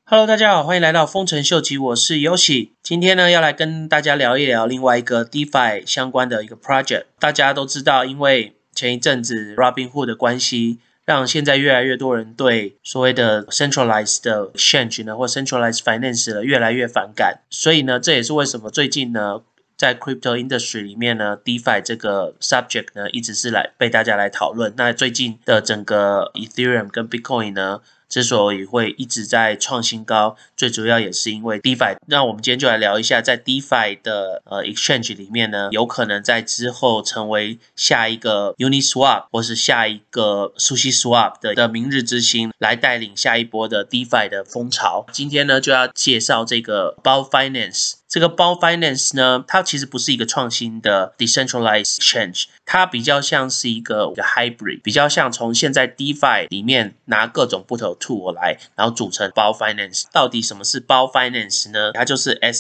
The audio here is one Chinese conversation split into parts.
Hello， 大家好，欢迎来到丰臣秀吉，我是 Yoshi。今天呢，要来跟大家聊一聊另外一个 DeFi 相关的一个 project。大家都知道，因为前一阵子 Robinhood 的关系，让现在越来越多人对所谓的 centralized 的 exchange 呢，或 centralized finance 呢越来越反感。所以呢，这也是为什么最近呢，在 crypto industry 里面呢 ，DeFi 这个 subject 呢，一直是被大家来讨论。那最近的整个 Ethereum 跟 Bitcoin 呢，之所以会一直在创新高，最主要也是因为 DeFi。那我们今天就来聊一下，在 DeFi 的exchange 里面呢，有可能在之后成为下一个 Uniswap 或是下一个 SushiSwap 的明日之星，来带领下一波的 DeFi 的风潮。今天呢，就要介绍这个 Bao Finance。这个 Bao Finance 呢，它其实不是一个创新的 decentralized exchange， 它比较像是一个 hybrid， 比较像从现在 DeFi 里面拿各种不同的 tool 来，然后组成 Bao Finance。到底什么是 Bao Finance 呢？它就是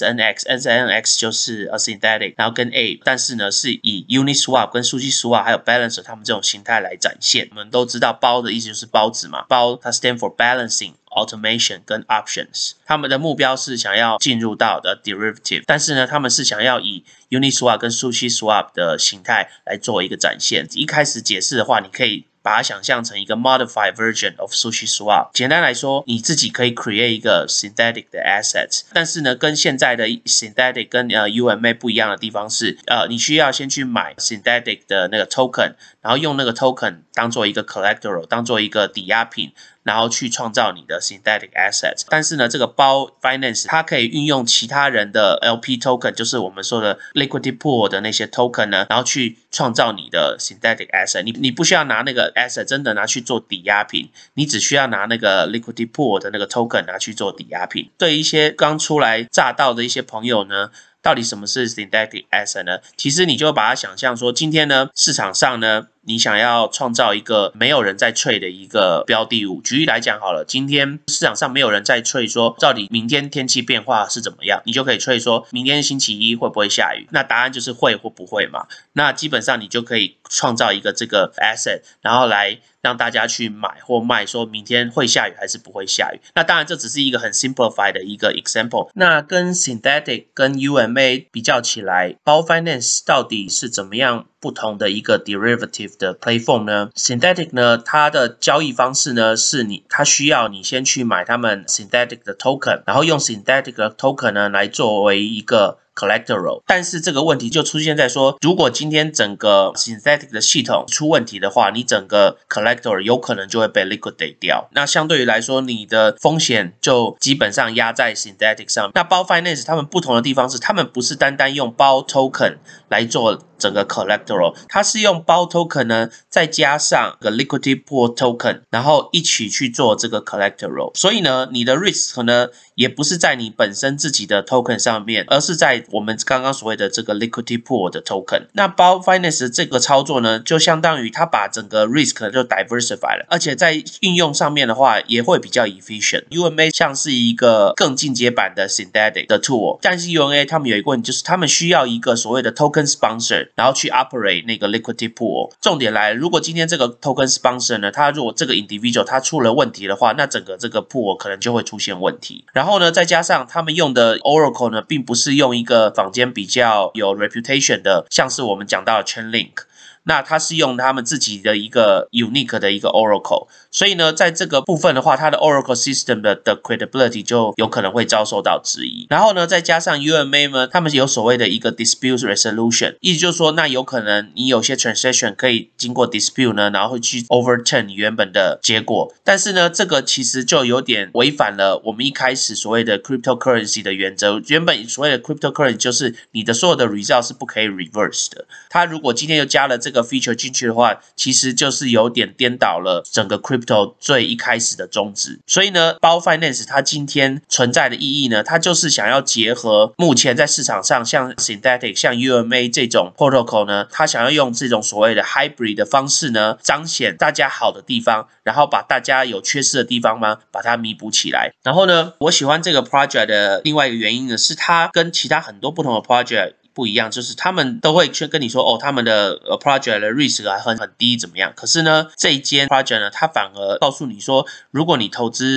SNX 就是 synthetic， 然后跟 Ape， 但是呢是以 Uniswap 跟 SushiSwap 还有 Balancer 他们这种形态来展现。我们都知道包的意思就是包子嘛，包它 stand for balancing。Automation 跟 Options， 他们的目标是想要进入到的 Derivative， 但是呢，他们是想要以 Uniswap 跟 SushiSwap 的形态来做一个展现。一开始解释的话，你可以把它想象成一个 modified version of SushiSwap。简单来说，你自己可以 create 一个 synthetic 的 assets， 但是呢，跟现在的 synthetic 跟UMA 不一样的地方是，你需要先去买 synthetic 的那个 token， 然后用那个 token 当做一个 collateral， 当做一个抵押品。然后去创造你的 synthetic assets， 但是呢，这个Bao Finance 它可以运用其他人的 LP token， 就是我们说的 liquidity pool 的那些 token 呢，然后去创造你的 synthetic asset。你不需要拿那个 asset 真的拿去做抵押品，你只需要拿那个 liquidity pool 的那个 token 拿去做抵押品。对一些刚出来乍到的一些朋友呢，到底什么是 synthetic asset 呢？其实你就把它想象说，今天呢市场上呢，你想要创造一个没有人在 trade 的一个标的物。举例来讲好了，今天市场上没有人在 trade 说到底明天天气变化是怎么样，你就可以 trade 说明天星期一会不会下雨，那答案就是会或不会嘛。那基本上你就可以创造一个这个 asset， 然后来让大家去买或卖，说明天会下雨还是不会下雨。那当然这只是一个很 simplified 的一个 example。那跟 synthetic 跟 UMA 比较起来， Bao Finance 到底是怎么样不同的一个 derivative 的 platform 呢？ Synthetic 呢，它的交易方式呢是它需要你先去买他们 synthetic 的 token， 然后用 synthetic 的 token 呢来作为一个collateral。 但是这个问题就出现在说，如果今天整个 synthetic 的系统出问题的话，你整个 collateral 有可能就会被 liquidate 掉。那相对于来说，你的风险就基本上压在 synthetic 上。那Bao Finance 他们不同的地方是，他们不是单单用Bao token 来做整个 collateral， 它是用Bao token 呢，再加上个 liquidity pool token， 然后一起去做这个 collateral。 所以呢，你的 risk 呢，也不是在你本身自己的 token 上面，而是在我们刚刚所谓的这个 liquidity pool 的 token。 那Bao Finance 这个操作呢，就相当于它把整个 risk 就 diversify 了，而且在运用上面的话也会比较 efficient。 UMA 像是一个更进阶版的 synthetic 的 tool， 但是 UMA 他们有一个问题，就是他们需要一个所谓的 token sponsor， 然后去 operate 那个 liquidity pool。 重点来了，如果今天这个 token sponsor 呢，他如果这个 individual 他出了问题的话，那整个这个 pool 可能就会出现问题。然后呢，再加上他们用的 Oracle 呢，并不是用一个坊间比较有 reputation 的，像是我们讲到的 Chainlink，那它是用他们自己的一个 unique 的一个 Oracle， 所以呢，在这个部分的话，它的 Oracle system 的 credibility 就有可能会遭受到质疑。然后呢，再加上 UMA 呢，他们有所谓的一个 dispute resolution， 意思就是说，那有可能你有些 transaction 可以经过 dispute 呢，然后会去 overturn 你原本的结果。但是呢，这个其实就有点违反了我们一开始所谓的 cryptocurrency 的原则。原本所谓的 cryptocurrency 就是你的所有的 result 是不可以 reverse 的。它如果今天又加了这个feature 进去的话，其实就是有点颠倒了整个 crypto 最一开始的宗旨。所以呢， Bao Finance 它今天存在的意义呢，它就是想要结合目前在市场上像 synthetic 像 UMA 这种 protocol 呢，它想要用这种所谓的 hybrid 的方式呢，彰显大家好的地方，然后把大家有缺失的地方呢，把它弥补起来。然后呢，我喜欢这个 project 的另外一个原因呢，是它跟其他很多不同的 project不一样，就是他们都会去跟你说哦，他们的project 的 risk 还很低怎么样。可是呢，这一间 project 呢，它反而告诉你说，如果你投资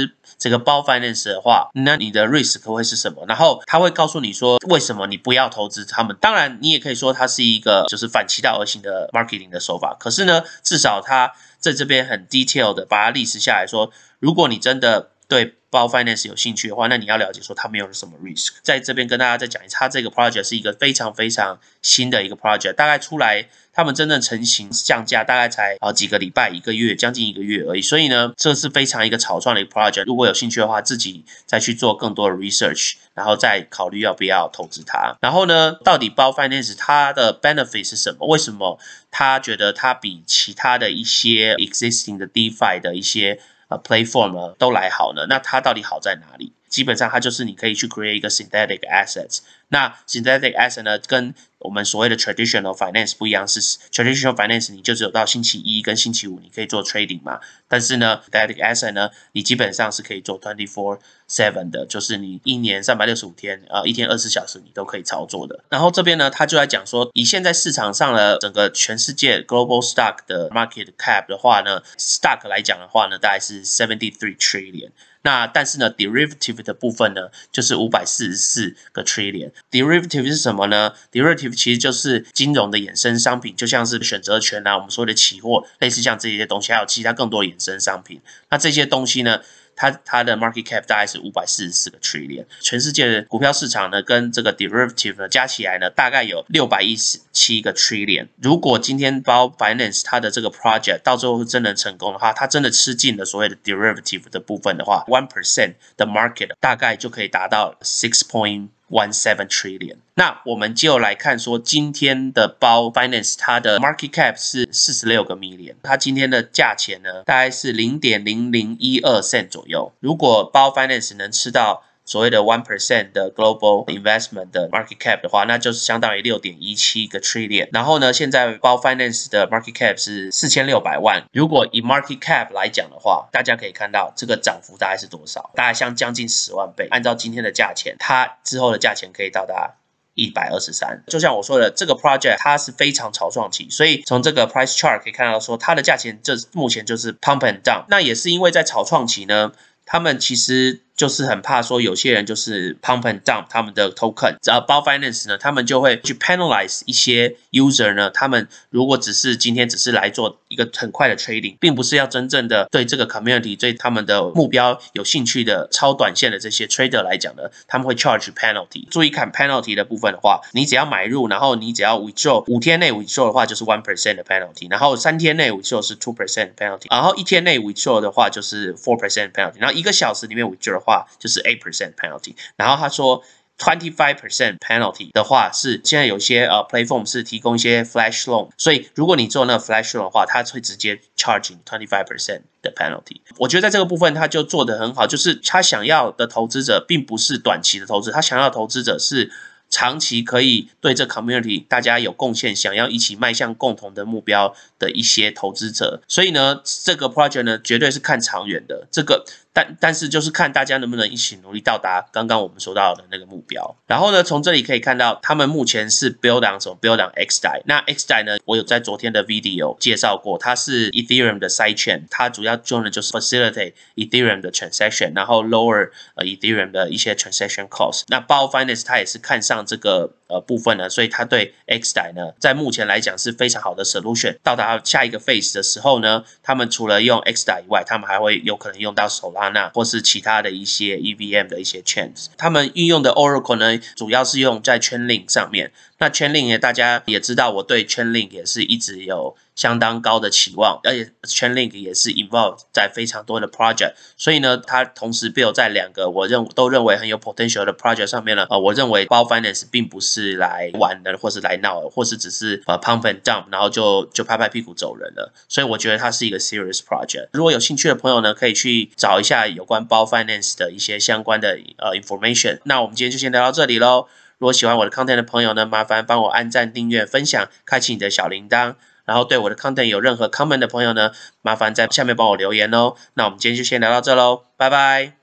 这个包 finance 的话，那你的 risk 会是什么？然后他会告诉你说为什么你不要投资他们。当然，你也可以说它是一个就是反其道而行的 marketing 的手法。可是呢，至少他在这边很 detailed 的把它历史下来说，如果你真的对包 finance 有兴趣的话，那你要了解说它没有什么 risk。在这边跟大家再讲一次，它这个 project 是一个非常非常新的一个 project， 大概出来他们真正成型降价大概才几个礼拜、1个月，将近1个月而已。所以呢，这是非常一个草创的一个 project。如果有兴趣的话，自己再去做更多的 research， 然后再考虑要不要投资它。然后呢，到底包 finance 它的 benefit 是什么？为什么他觉得它比其他的一些 existing 的 DeFi 的一些platform 呢都来好呢？那它到底好在哪里？基本上它就是你可以去 create 一个 synthetic assets。那 synthetic asset 呢，跟我们所谓的 traditional finance 不一样，是 traditional finance 你就只有到星期一跟星期五你可以做 trading 嘛，但是呢 synthetic asset 呢，你基本上是可以做 24/7 的，就是你一年365天一天24小时你都可以操作的。然后这边呢，他就在讲说，以现在市场上的整个全世界 global stock 的 market cap 的话呢 ，stock 来讲的话呢，大概是73 trillion。那但是呢 ，derivative 的部分呢，就是544个 trillion。derivative 是什么呢 ？derivative 其实就是金融的衍生商品，就像是选择权啊，我们说的期货，类似像这些东西，还有其他更多的衍生商品。那这些东西呢，它的 market cap 大概是544个 trillion。全世界的股票市场呢，跟这个 derivative 呢加起来呢，大概有617个 trillion。如果今天包 finance 它的这个 project 到最后真的成功的话，它真的吃进了所谓的 derivative 的部分的话 ，1% 的 market 大概就可以达到6.17 trillion。那我们就来看说，今天的包 finance 它的 market cap 是46个 million， 它今天的价钱呢，大概是 0.0012 cent 左右。如果包 finance 能吃到所谓的 1% 的 global investment 的 market cap 的话，那就是相当于 6.17 个 trillion。然后呢，现在包 finance 的 market cap 是4600万。如果以 market cap 来讲的话，大家可以看到这个涨幅大概是多少？大概将近10万倍。按照今天的价钱，它之后的价钱可以到达123。就像我说的，这个 project 它是非常草创期，所以从这个 price chart 可以看到说，它的价钱目前就是 pump and down。那也是因为在草创期呢，他们其实就是很怕说有些人就是 pump and dump 他们的 token， 包 finance 呢，他们就会去 penalize 一些 user 呢，他们如果今天只是来做一个很快的 trading， 并不是要真正的对这个 community 对他们的目标有兴趣的超短线的这些 trader 来讲呢，他们会 charge penalty。注意看 penalty 的部分的话，你只要买入，然后你只要 withdraw 5天内 withdraw 的话就是 1% 的 penalty， 然后3天内 withdraw 是 2% penalty， 然后1天内 withdraw 的话就是 4% penalty， 然后1个小时里面 withdraw 的话就是 8% penalty。 然后他说25% penalty 的话是现在有些platform 是提供一些 flash loan， 所以如果你做那个 flash loan 的话，他会直接 charge 你 25% 的 penalty。 我觉得在这个部分他就做得很好，就是他想要的投资者并不是短期的投资，他想要的投资者是长期可以对这 community 大家有贡献，想要一起迈向共同的目标的一些投资者。所以呢，这个 project 呢绝对是看长远的，但是就是看大家能不能一起努力到达刚刚我们说到的那个目标。然后呢，从这里可以看到他们目前是 build on 什么 build on XDAI。 那 XDAI 呢，我有在昨天的 video 介绍过，它是 Ethereum 的 sidechain， 它主要做的就是 facilitate Ethereum 的 transaction， 然后 lower Ethereum 的一些 transaction cost。 那包 finance 它也是看上这个部分呢，所以它对 XDAI 呢在目前来讲是非常好的 solution。 到达下一个 phase 的时候呢，他们除了用 XDAI 以外，他们还会有可能用到 Solana或是其他的一些 EVM 的一些 chains。 他们运用的 Oracle 呢，主要是用在 Chainlink 上面。那 Chainlink 呢，大家也知道，我对 Chainlink 也是一直有相当高的期望，而且 Chainlink 也是 involved 在非常多的 project， 所以呢，它同时 build 在2个都认为很有 potential 的 project 上面呢。我认为包 finance 并不是来玩的，或是来闹的，或是只是pump and dump， 然后就拍拍屁股走人了。所以我觉得它是一个 serious project。如果有兴趣的朋友呢，可以去找一下有关包 finance 的一些相关的information。那我们今天就先聊到这里咯。如果喜欢我的 content 的朋友呢，麻烦帮我按赞、订阅、分享，开启你的小铃铛。然后对我的 content 有任何 comment 的朋友呢，麻烦在下面帮我留言哦。那我们今天就先聊到这咯，拜拜。